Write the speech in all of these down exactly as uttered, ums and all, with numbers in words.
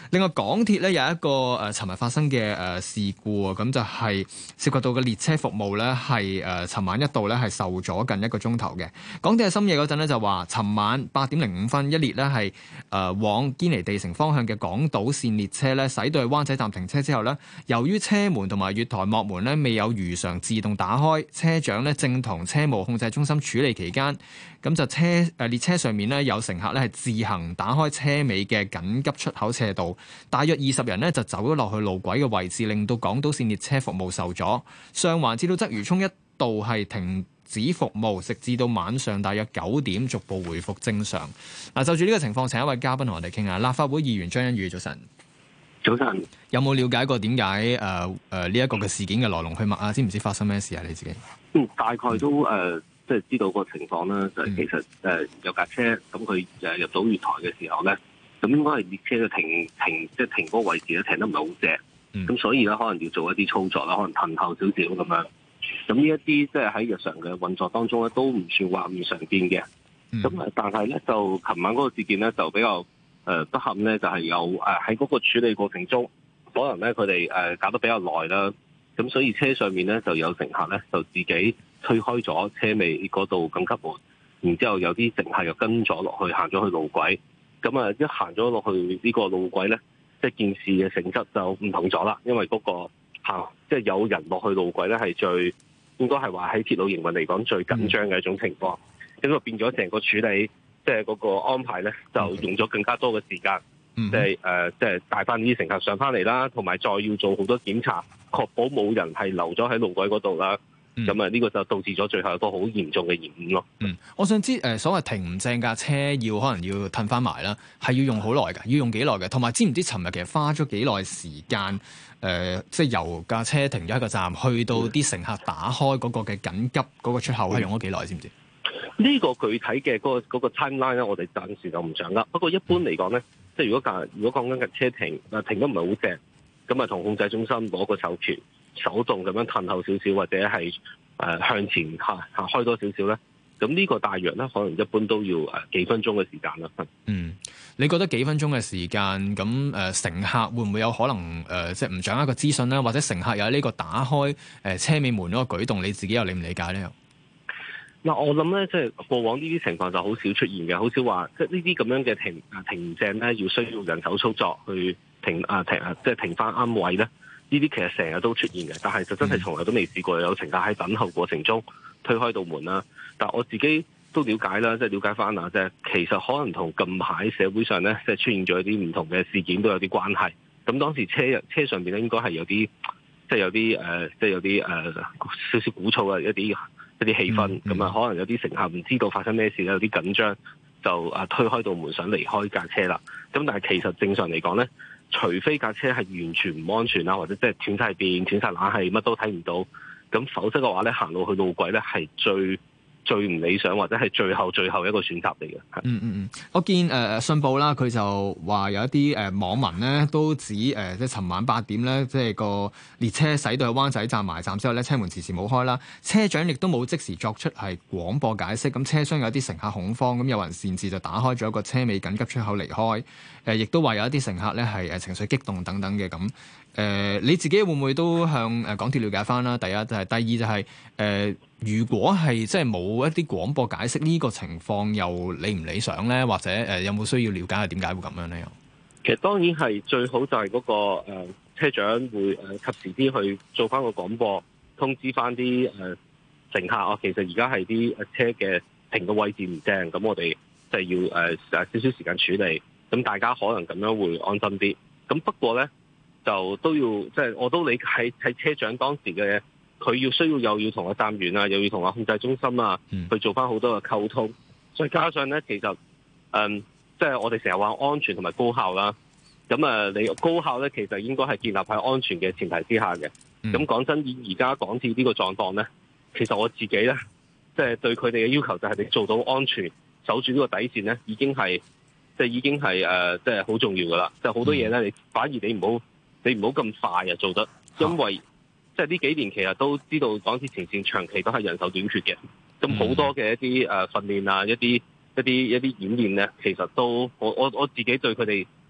另外港鐵咧有一個誒尋日發生嘅誒事故啊，咁就係涉及到嘅列車服務咧係誒尋晚一度咧係受阻近一個鐘頭嘅。港鐵喺深夜嗰陣咧就話，尋晚八點零五分一列咧係誒往堅尼地城方向嘅港島線列車咧駛到去灣仔站停車之後咧，由於車門同埋月台幕門咧未有如常自動打開，車長咧正同車務控制中心處理期間，咁就車誒列車上面咧有乘客咧係自行打開車尾嘅緊急出口斜道，大約二十人咧就走咗落去路軌嘅位置，令到港島線列車服務受阻。上環至到鰂魚涌一度係停止服務，直至到晚上大約九點逐步回復正常。嗱，就住呢個情況，請一位嘉賓同我哋傾下。立法會議員張欣宇，早晨。 早晨。 有冇了解過點解誒誒呢一個嘅事件嘅來龍去脈啊？知唔知發生咩事啊？你自己？ 嗯，大概都誒。呃即係知道個情況啦，就係、是、其實誒、呃、有架車咁佢誒入到月台嘅時候咧，咁應該係列車嘅停停即係停嗰個位置咧停得唔係好正，咁、嗯、所以咧可能要做一啲操作啦，可能褪後少少咁樣。咁呢一啲即係喺日常嘅運作當中咧，都唔算話唔常見嘅。咁誒、嗯，但係咧就琴晚嗰個事件咧就比較誒、呃、不幸咧，就係、是、有誒喺嗰個處理過程中，可能咧佢哋誒搞得比較耐啦，咁所以車上面咧就有乘客咧就自己推開咗車尾嗰度緊急門，然之後有啲乘客又跟咗落去，行咗去路軌。咁啊，一行咗落去呢個路軌咧，即係件事嘅性質就唔同咗啦。因為嗰個行即係有人落去路軌咧，係最應該係話喺鐵路營運嚟講最緊張嘅一種情況。咁啊變咗成個處理，即係嗰個安排咧，就用咗更加多嘅時間，即係誒，即係帶翻啲乘客上翻嚟啦，同埋再要做好多檢查，確保冇人係留咗喺路軌嗰度啦。咁啊，呢個就導致咗最後一個好嚴重嘅延誤咯。 嗯，我想知誒、呃，所謂停唔正架車要可能要褪翻埋啦，係要用好耐㗎，要用幾耐嘅？同埋知唔知尋日其實花咗幾耐時間？誒、呃，即係由架車停咗一個站，去到啲乘客打開嗰個嘅緊急嗰個出口，係用咗幾耐？知唔知？呢個具體嘅嗰、嗰個嗰個 timeline 咧，我哋暫時就唔掌握。不過一般嚟講咧，即係如果架如果講緊架車停啊停得唔係好正，咁啊同控制中心攞個授權。手動咁樣褪後少少，或者係誒、呃、向前下下開多少少咧，咁呢個大約咧，可能一般都要誒幾分鐘嘅時間啦。 嗯，你覺得幾分鐘嘅時間，咁誒、呃、乘客會唔會有可能誒、呃、即係唔掌握個資訊咧，或者乘客有呢個打開誒、呃、車尾門嗰個舉動，你自己又理唔理解咧？ 嗱、呃，我諗咧，即係過往呢啲情況就好少出現嘅，好少話即係呢啲咁樣嘅停啊停正咧，要需要人手操作去停啊停啊，即係停翻啱位咧。呢啲其實成日都出現嘅，但係就真係從來都未試過有乘客喺等候過程中推開道門啦。但係我自己都了解啦，即係了解翻啊，即係其實可能同近排社會上咧，即係出現咗一啲唔同嘅事件都有啲關係。咁當時車車上邊咧應該係有啲，即係有啲誒，即係有啲誒少少鼓噪嘅一啲一啲氣氛。咁啊、嗯，嗯、可能有啲乘客唔知道發生咩事咧，有啲緊張，就啊推開道門想離開架車啦。咁但係其實正常嚟講咧，除非架車係完全唔安全啦，或者即係斷晒電、斷晒冷氣，乜都睇唔到，咁否則嘅話咧，行路去路軌咧係最最唔理想，或者係最後最後一個選擇嚟嘅。 嗯嗯嗯，我見誒、呃、信報啦，佢就話有一啲誒、呃、網民咧都指誒、呃，即係尋晚八點咧，即係個列車駛到去灣仔站埋站之後咧，車門遲遲冇開啦，車長亦都冇即時作出係廣播解釋，咁車廂有啲乘客恐慌，咁有人擅自就打開咗一個車尾緊急出口離開，誒、呃，亦都話有一啲乘客咧係誒情緒激動等等嘅咁。誒、呃，你自己會唔會都向誒港鐵了解翻啦？第一就係、是，第二就係、是、誒。呃如果係即係冇一啲廣播解釋，呢、這個情況又理唔理想咧？或者誒、呃、有冇需要了解下點解會咁樣咧？ 其實當然係最好就係嗰、那個誒、呃、車長會誒、呃、及時啲去做翻個廣播，通知翻啲誒乘客啊。其實而家係啲誒車嘅停嘅位置唔正，咁我哋就係要誒誒少少時間處理。咁大家可能咁樣會安心啲。咁不過咧就都要即係、就是、我都理解喺車長當時嘅。佢要需要又要同個站員啊，又要同個控制中心啊，去做翻好多嘅溝通。再加上咧，其實嗯，即係我哋成日話安全同埋高效啦。咁啊，你高效咧，其實應該係建立喺安全嘅前提之下嘅。咁講真，以而家港鐵呢個狀況咧，其實我自己咧，即係對佢哋嘅要求就係你做到安全，守住呢個底線咧，已經係即係已經係誒，即係好重要噶啦。即係好多嘢咧，你反而你唔好你唔好咁快啊做得，因為。即係呢幾年其實都知道港鐵前線長期都係人手短缺嘅，咁好多嘅一啲誒訓練啊，一啲一啲一啲演練咧，其實都我我我自己對佢哋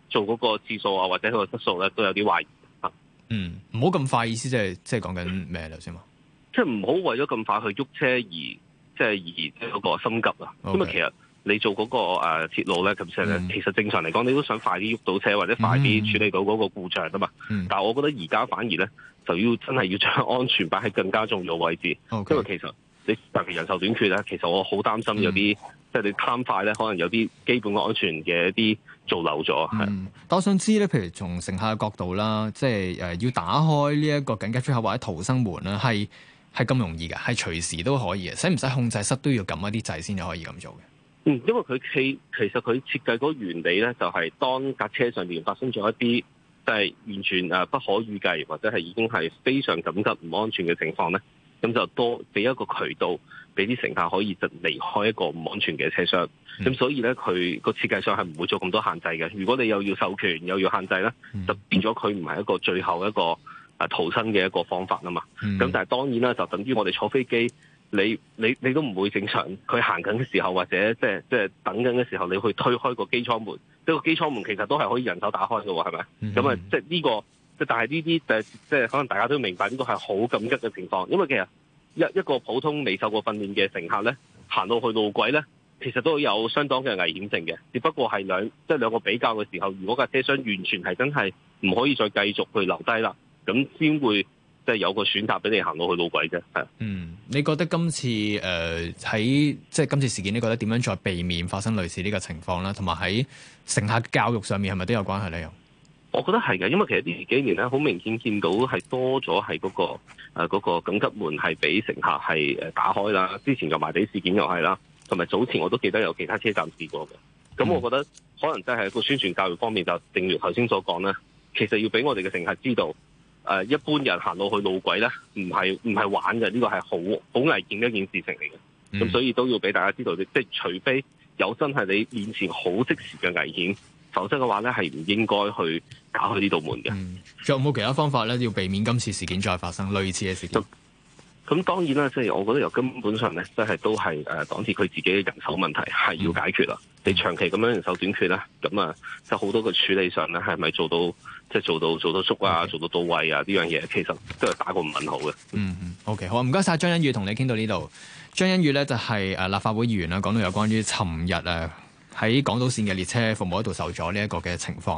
做嗰個次數啊，或者佢個質素咧，都有啲懷疑。 嗯，唔好咁快，意思即係即係講緊咩頭先嘛？ 即係唔好為咗咁快去喐車而即係而即係嗰個心急啊。Okay. 因為其實你做嗰個誒鐵路咧，其實、嗯、其實正常嚟講，你都想快啲喐到車，或者快啲處理到嗰個故障啊嘛。嗯、但係我覺得而家反而咧，就要真係要將安全擺喺更加重要位置。Okay. 因為其實你特別人手短缺咧，其實我好擔心有啲、嗯、即係你貪快咧，可能有啲基本嘅安全嘅一啲做漏咗。係、嗯， 但我想知咧，譬如從乘客嘅角度啦，即係誒要打開呢一個緊急出口或者逃生門啦，係係咁容易嘅，係隨時都可以嘅，使唔使控制室都要撳一啲掣先至可以咁做嘅？ 嗯，因為佢其其實佢設計嗰個原理咧，就係、是、當架車上面發生咗一啲即係完全誒不可預計或者係已經係非常緊急唔安全嘅情況咧，咁就多俾一個渠道俾啲乘客可以就離開一個唔安全嘅車廂。咁、嗯、所以咧，佢個設計上係唔會做咁多限制嘅。如果你又要授權又要限制咧，就變咗佢唔係一個最後一個誒逃生嘅一個方法啊嘛。咁、嗯、但係當然啦，就等於我哋坐飛機。你你你都唔會正常，佢行緊嘅時候或者即係即係等緊嘅時候，你去推開個機艙門，即係個機艙門其實都係可以人手打開嘅喎，係咪？咁啊、mm，hmm. 即係呢個，即但係呢啲誒，即係可能大家都明白呢個係好緊急嘅情況，因為其實一一個普通未受過訓練嘅乘客咧，行到去路軌咧，其實都有相當嘅危險性嘅，只不過係兩即係兩個比較嘅時候，如果架車廂完全係真係唔可以再繼續去留低啦，咁先會。即係有個選擇俾你行到去路軌啫，係。嗯， 你覺得今次誒喺、呃、即係今次事件，你覺得點樣再避免發生類似呢個情況咧？同埋喺乘客教育上面係咪都有關係咧？又， 我覺得係嘅，因為其實呢幾年咧，好明顯見到係多咗係嗰個誒嗰、呃嗰個緊急門係俾乘客係誒打開啦。之前油麻地事件又係啦，同埋早前我都記得有其他車站試過嘅。咁、嗯、我覺得可能真係一個宣傳教育方面，就正如頭先所講咧，其實要俾我哋嘅乘客知道。誒、呃、一般人行到去路軌咧，唔係唔係玩嘅，呢、這個係好好危險嘅一件事情嚟嘅。咁、嗯、所以都要俾大家知道，即係除非有真係你面前好即時嘅危險，否則嘅話咧係唔應該去打開呢道門嘅。仲、 嗯、有冇其他方法咧，要避免今次事件再發生類似嘅事件？ 咁當然啦，即、就、係、是、我覺得由根本上咧，即係都係誒港鐵佢自己嘅人手問題係要解決啦。嗯、你長期咁樣人手短缺咧，咁啊，就好多嘅處理上咧，係咪做到即係、就是、做到做到足啊，做到到位啊？呢樣嘢其實都係打個問號嘅。嗯嗯 ，OK，好，唔該晒。張欣宇同你傾到呢度。張欣宇咧就係誒立法會議員啦，講到有關於尋日誒喺港島線嘅列車服務喺度受阻呢一個嘅情況。